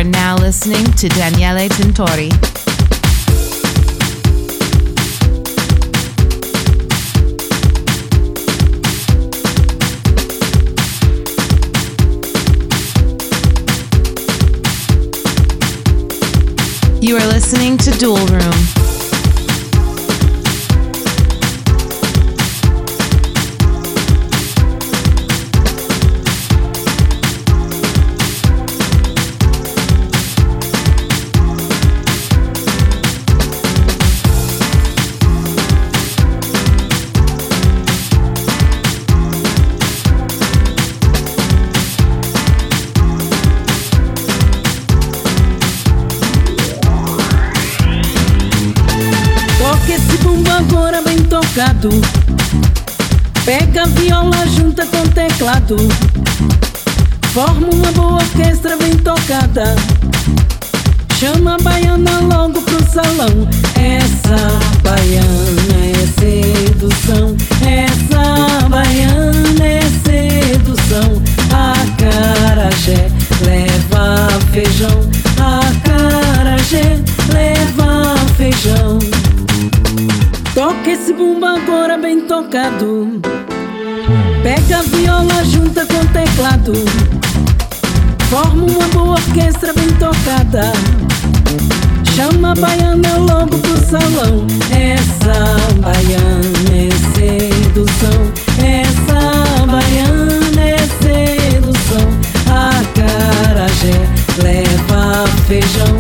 are now listening to Daniele Tintori. You are listening to Dual Room. Pega a viola, junta com teclado, forma uma boa orquestra bem tocada. Chama a baiana logo pro salão. Essa baiana é sedução, essa baiana é sedução. Acarajé leva feijão, acarajé leva feijão. Toca esse bumba agora bem tocado. Pega a viola, junta com teclado, forma uma boa orquestra bem tocada. Chama a baiana logo pro salão. Essa baiana é sedução, essa baiana é sedução. Acarajé leva feijão,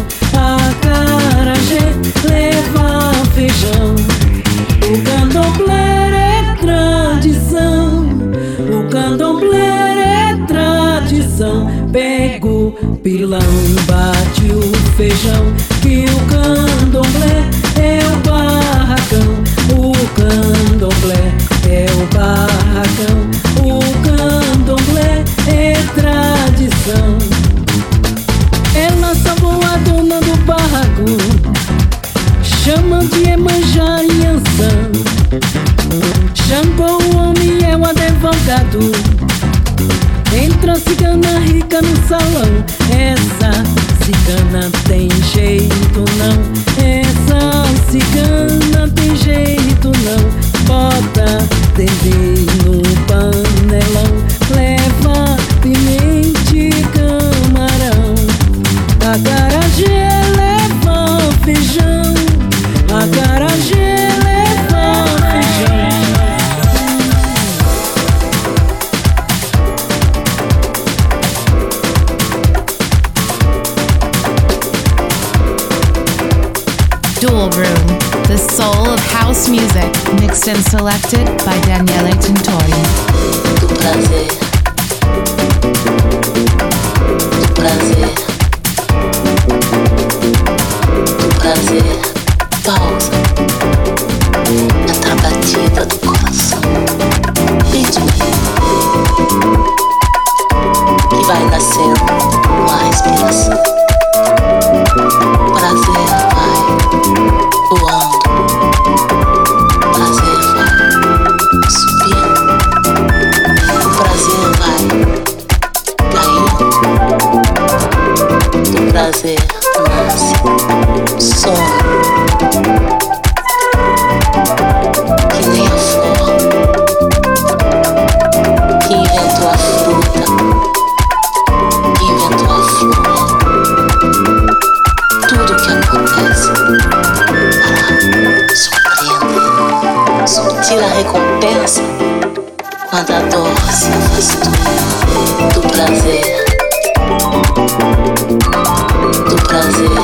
acarajé leva feijão. O candomblé é tradição, o candomblé é tradição. Pega o pilão, bate o feijão, que o candomblé é o barracão. O candomblé é o barracão, o candomblé é tradição. Ela salvou a dona do barraco, chama de Iemanjá e Ançã. Xangô, o homem é o advogado. Entra a cigana rica no salão. Essa cigana tem jeito não, essa cigana tem jeito não. Bota dendê no panelão, leva pimenta e camarão. Acarajé leva feijão, acarajé leva feijão. Dual Room, the soul of house music, mixed and selected by Daniele Tintori. Do prazer, do prazer, do prazer. Pausa. Entra a batida do coração. Ritmo que vai nascendo com a respiração. Prazer vai voando, prazer vai subindo, o prazer vai caindo, do prazer nasce sono, que nem a flor que inventou a fruta, que inventou a flor. Tudo que acontece para surpreender, subtil a recompensa quando a dor se afastou do prazer, do prazer,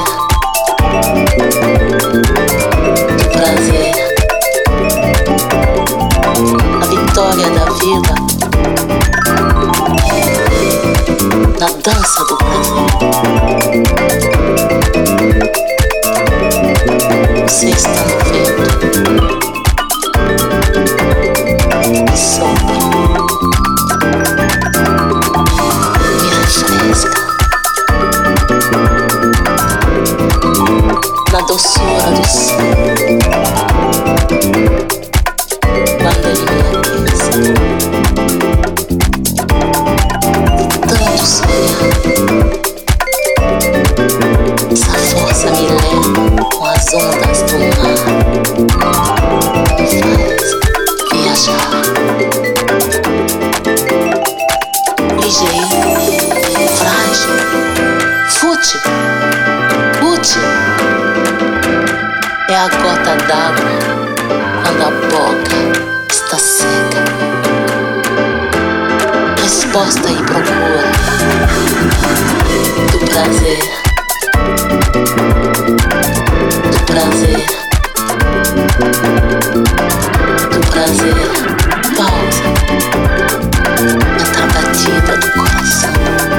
do prazer. A vitória da vida na dança do prazer. Você está no vento e sopra, me refresca na doçura do céu. Quando ele me aquece, de tanto sonhar. as ondas do mar me faz viajar. Ligeiro, frágil, fútil, útil. É a gota d'água quando a boca está seca. Resposta e procura do prazer, do prazer, do prazer. Pausa entre a batida do coração.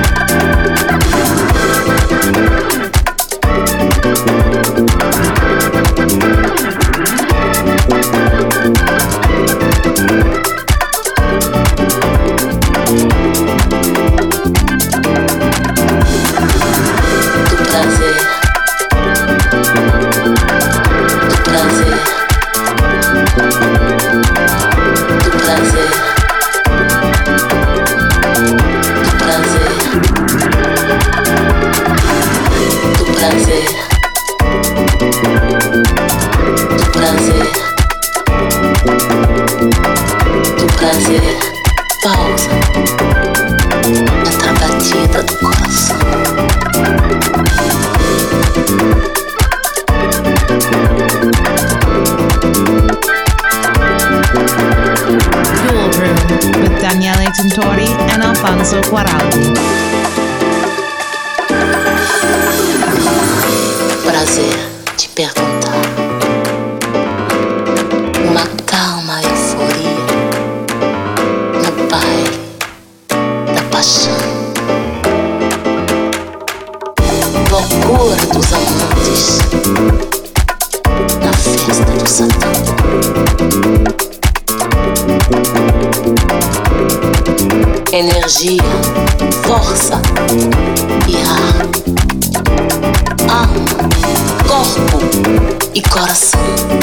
Pausa entre a batida do coração. Dual Room with Daniele Tintori and Alfonso Guaraldi. Prazer de perguntar. Uma calma euforia no baile da paixão. Loucura dos amantes na festa do Satã. Energia, força e ar. Alma, corpo e coração.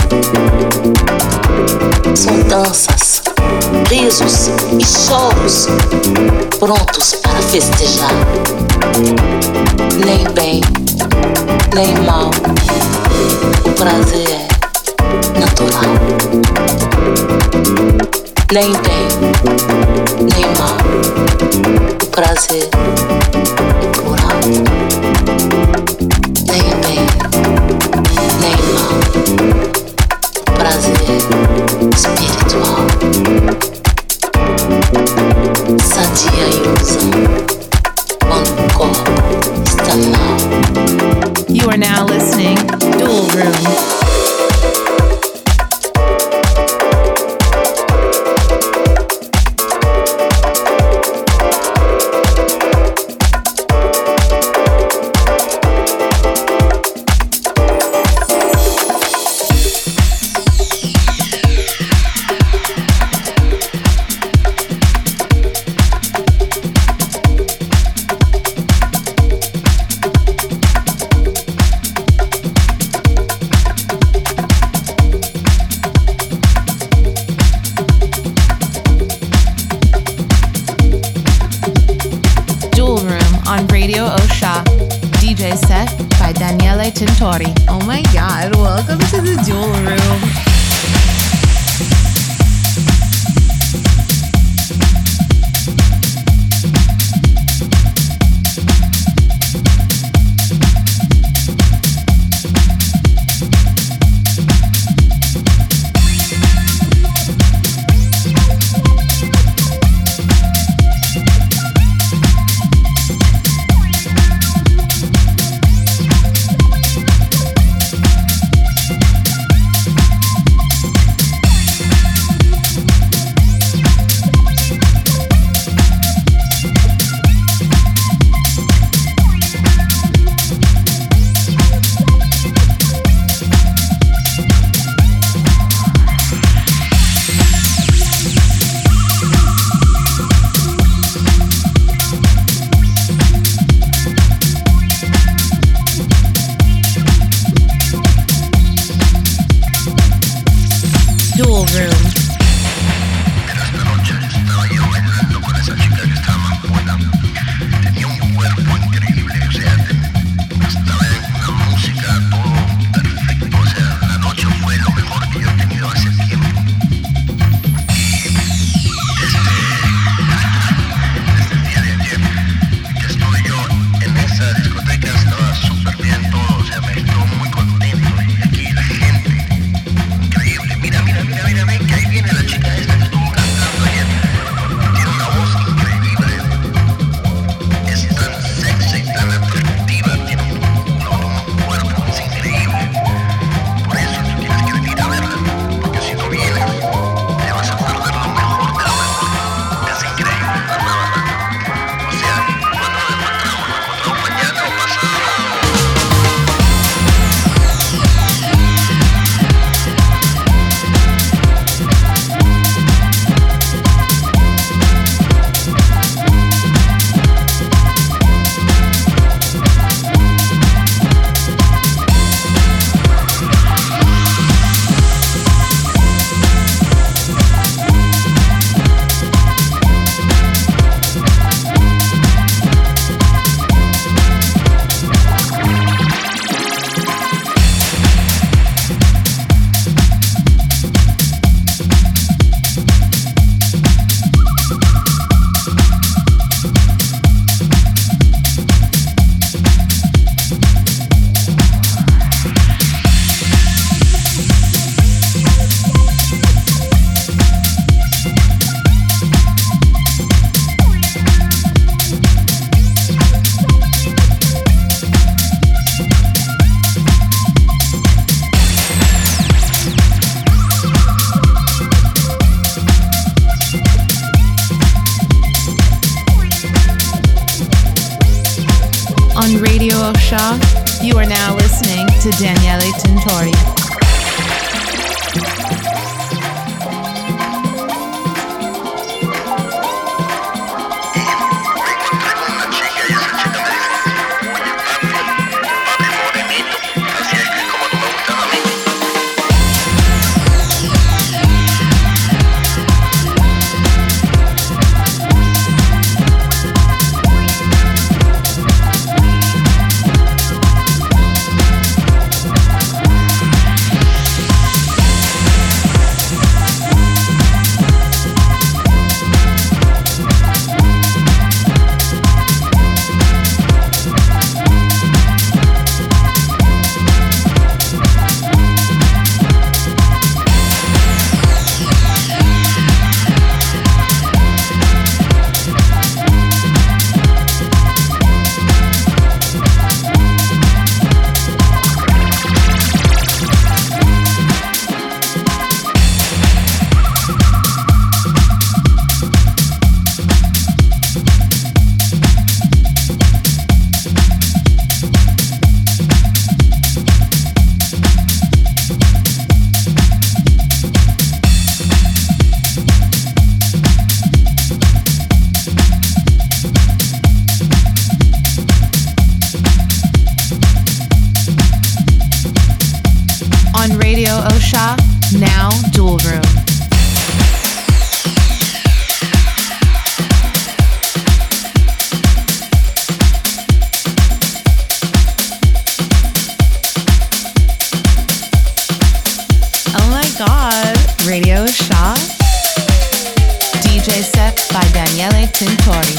São danças, risos e choros prontos para festejar. Nem bem, nem mal, o prazer é natural. Nem bem, nem mal, o prazer é plural. Nem bem, nem mal, o prazer espiritual. Sadia ilusão quando o corpo está mal. You are now listening Dual Room. DJ set by Daniele Tintori. Oh my God, welcome to the Dual Room. Dual Room. Tenía un cuerpo increíble, o sea, estaba en una música todo perfecto, Osha. You are now listening to Daniele Tintori. Now, Dual Room. Oh my God, Radio Shaw. DJ set by Daniele Tintori.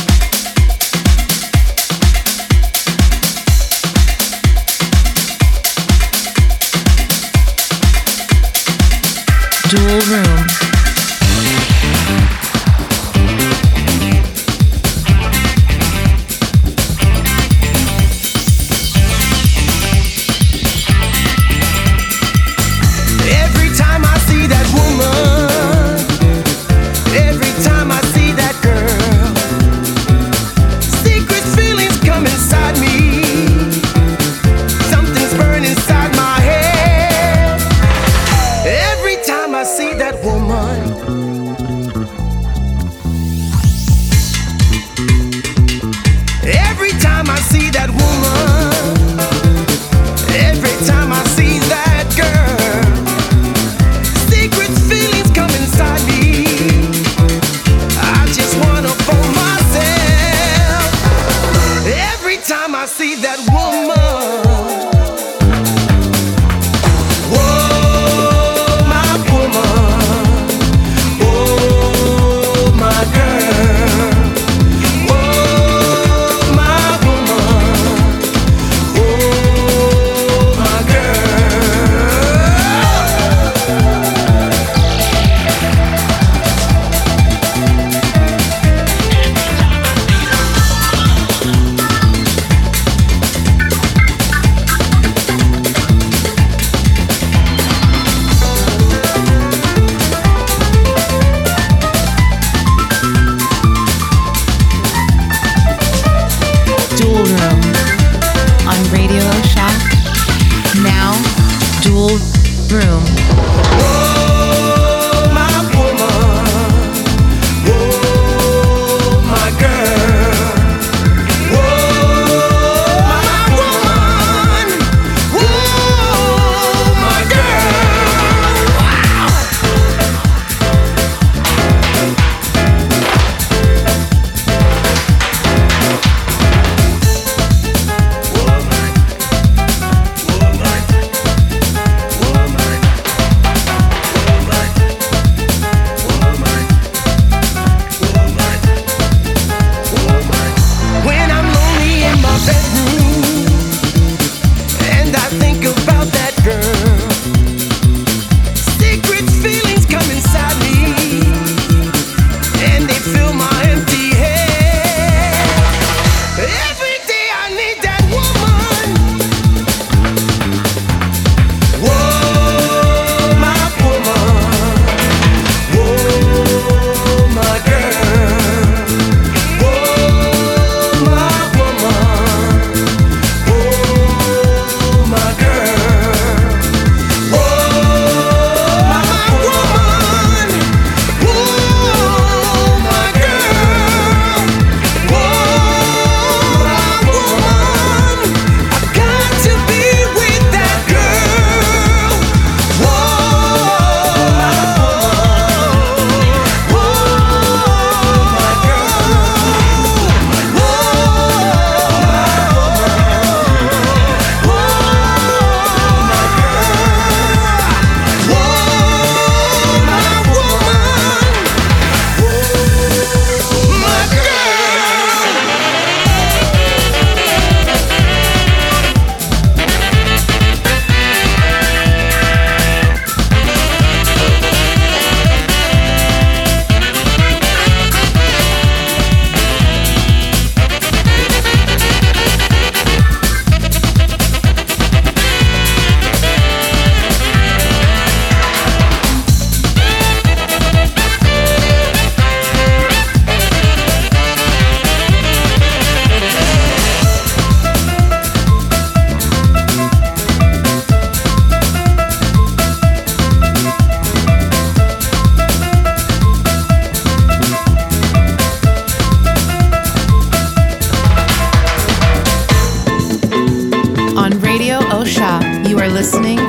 Dual Room. Every time I see that woman, every time I see that girl, secret feelings come inside me. Something's burning inside my head. Every time I see that woman, every time I see that woman, every time I see that girl, secret feelings come inside me. I just wanna fool myself. Every time I see that woman.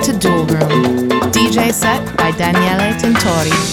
to Dual Room, DJ set by Daniele Tintori.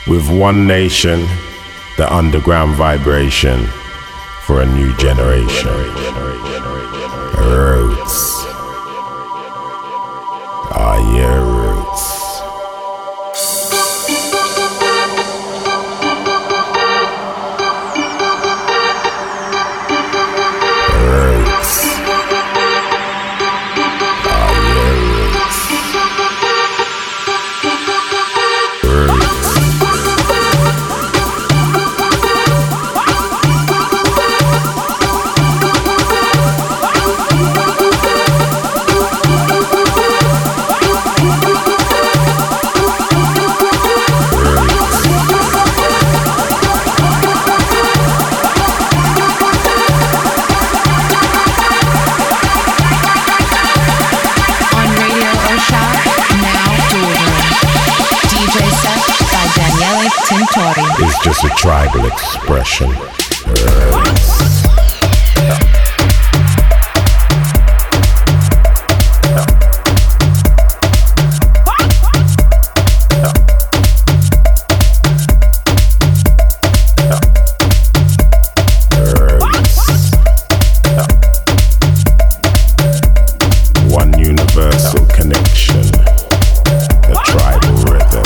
With one nation, the underground vibration for a new generation. Roots. Ah, yeah, roots. Is just a tribal expression. One universal connection, the tribal rhythm.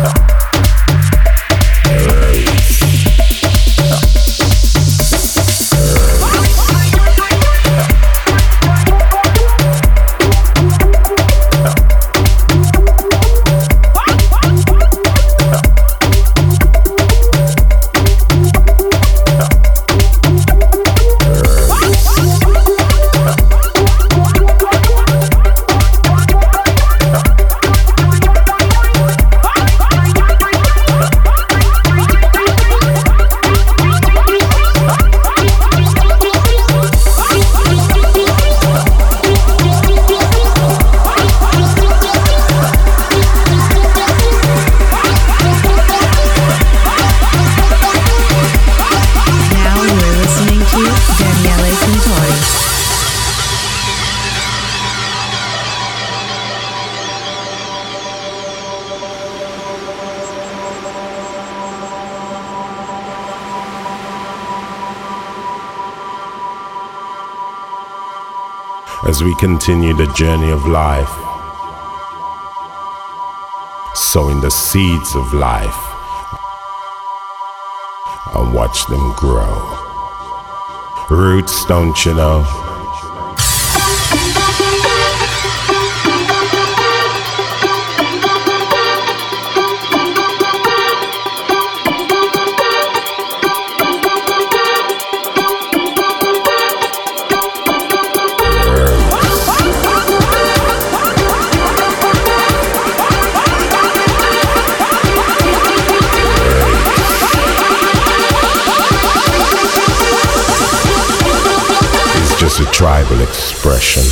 As we continue the journey of life, sowing the seeds of life, and watch them grow. Roots, don't you know? A tribal expression.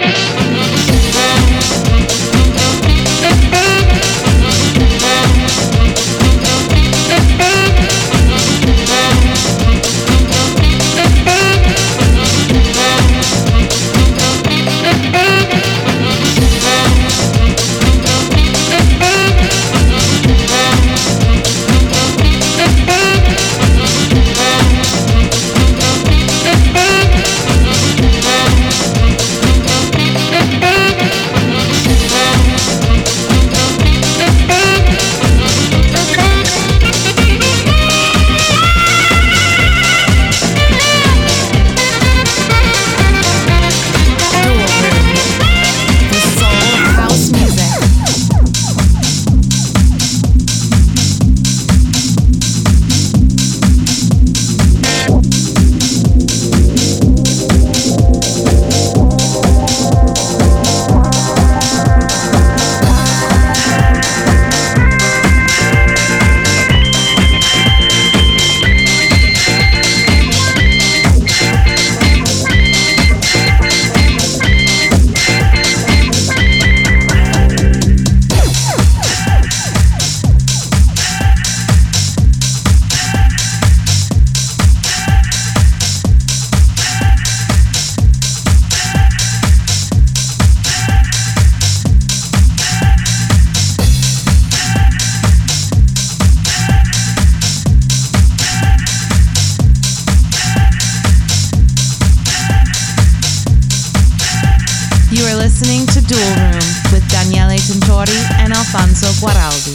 Alfonso Guaraldi.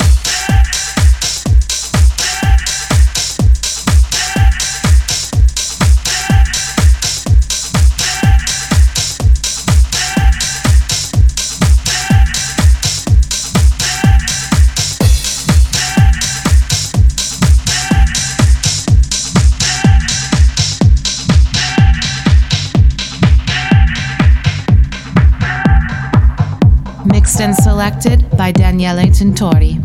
Mixed and selected by Daniele Tintori.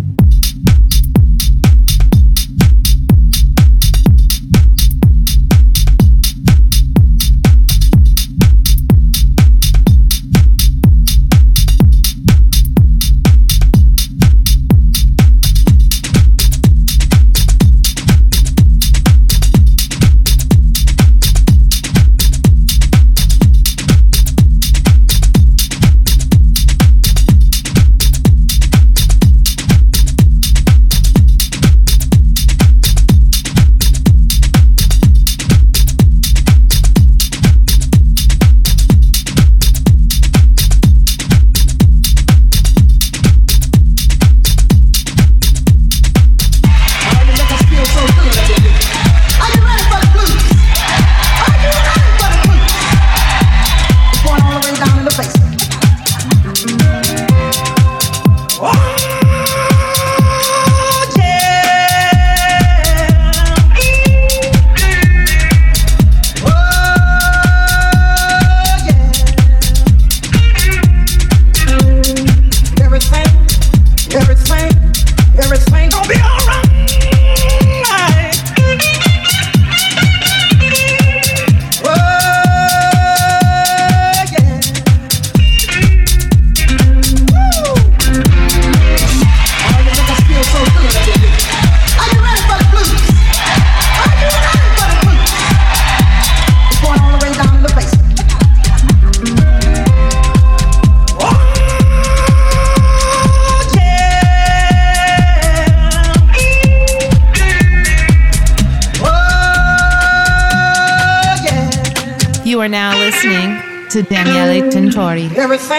You are now listening to Daniele Tintori.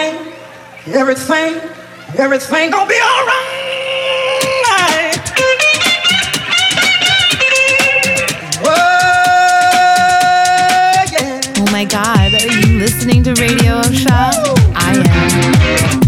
Everything gonna be alright. Oh my God, are you listening to Radio Shah? I am.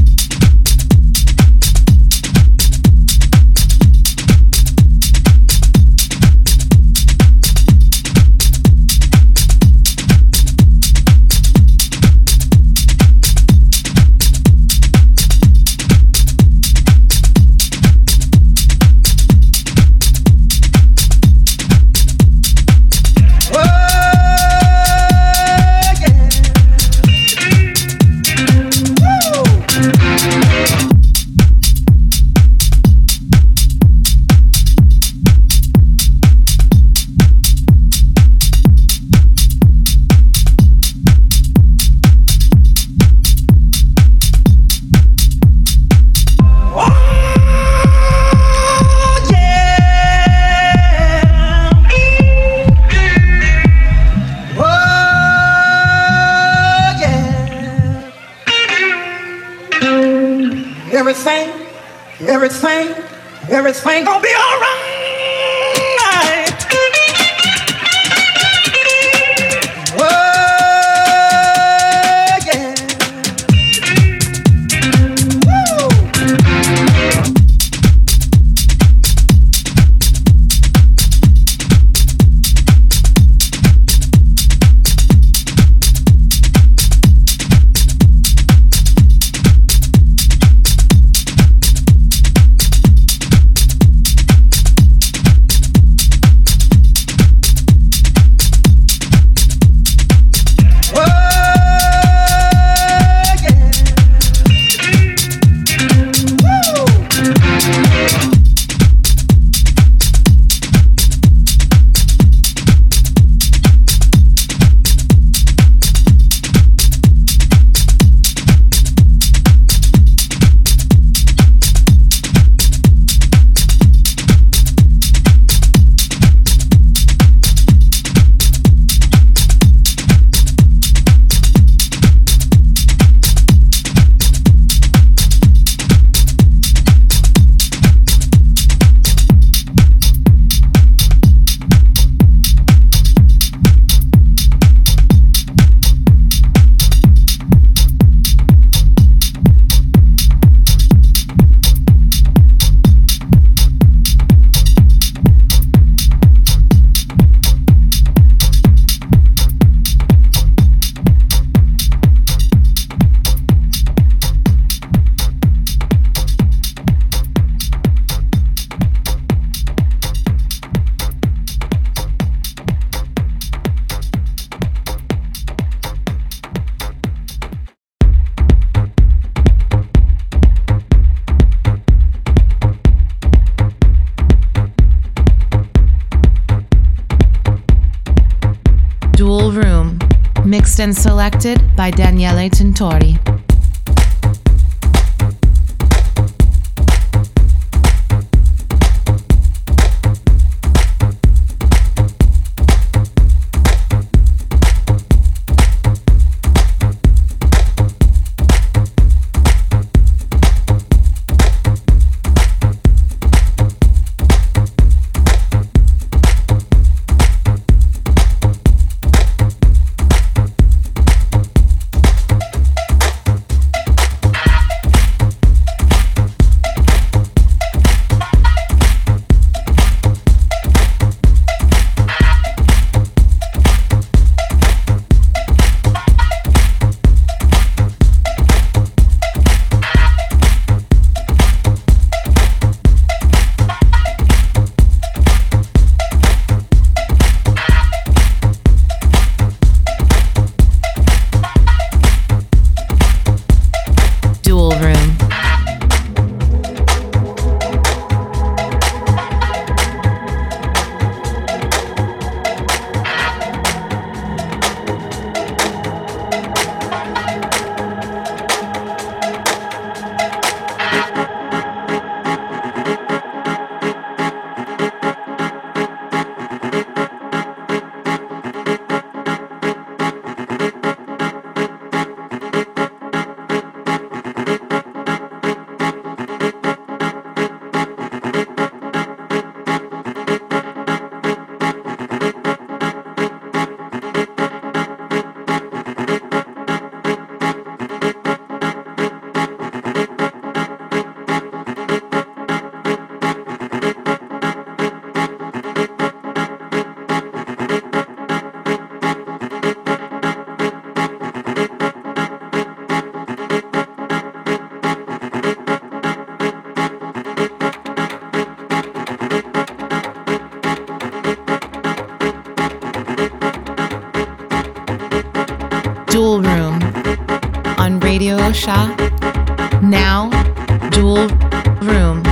everything gonna be alright. Dual Room, mixed and selected by Daniele Tintori. Dual Room on Radio Osha. Now, Dual Room.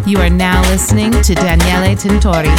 You are now listening to Daniele Tintori.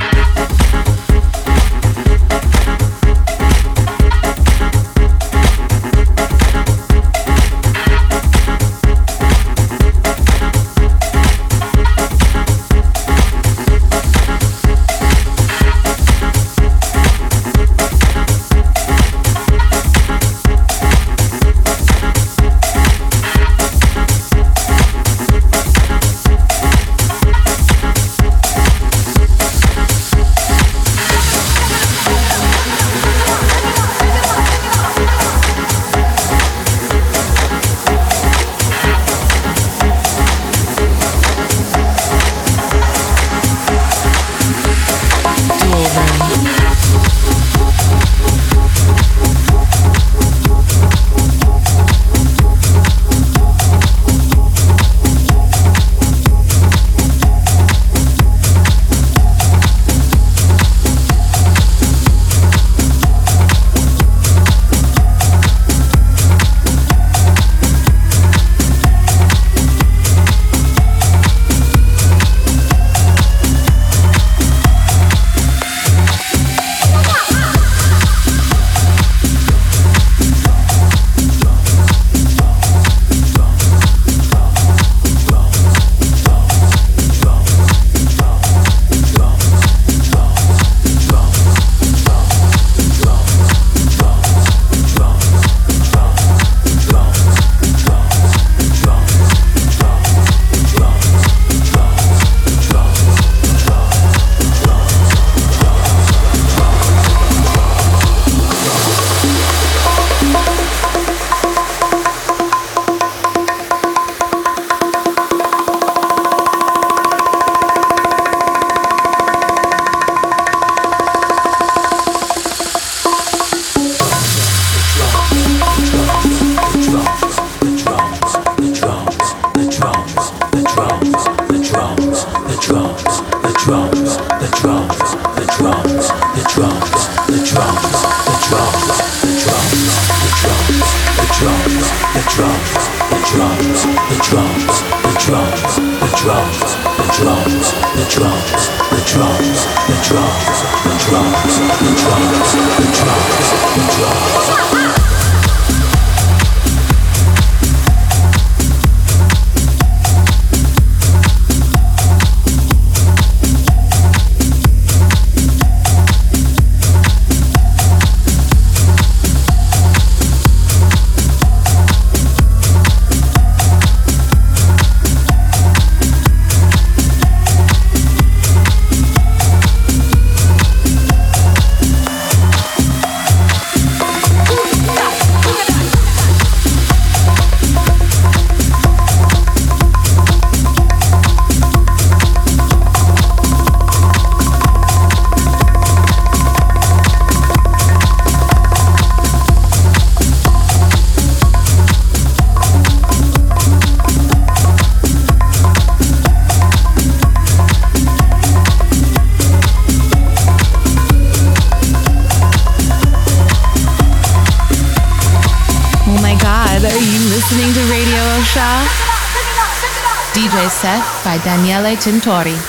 DJ set by Daniele Tintori.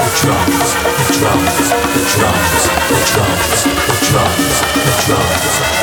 The drums.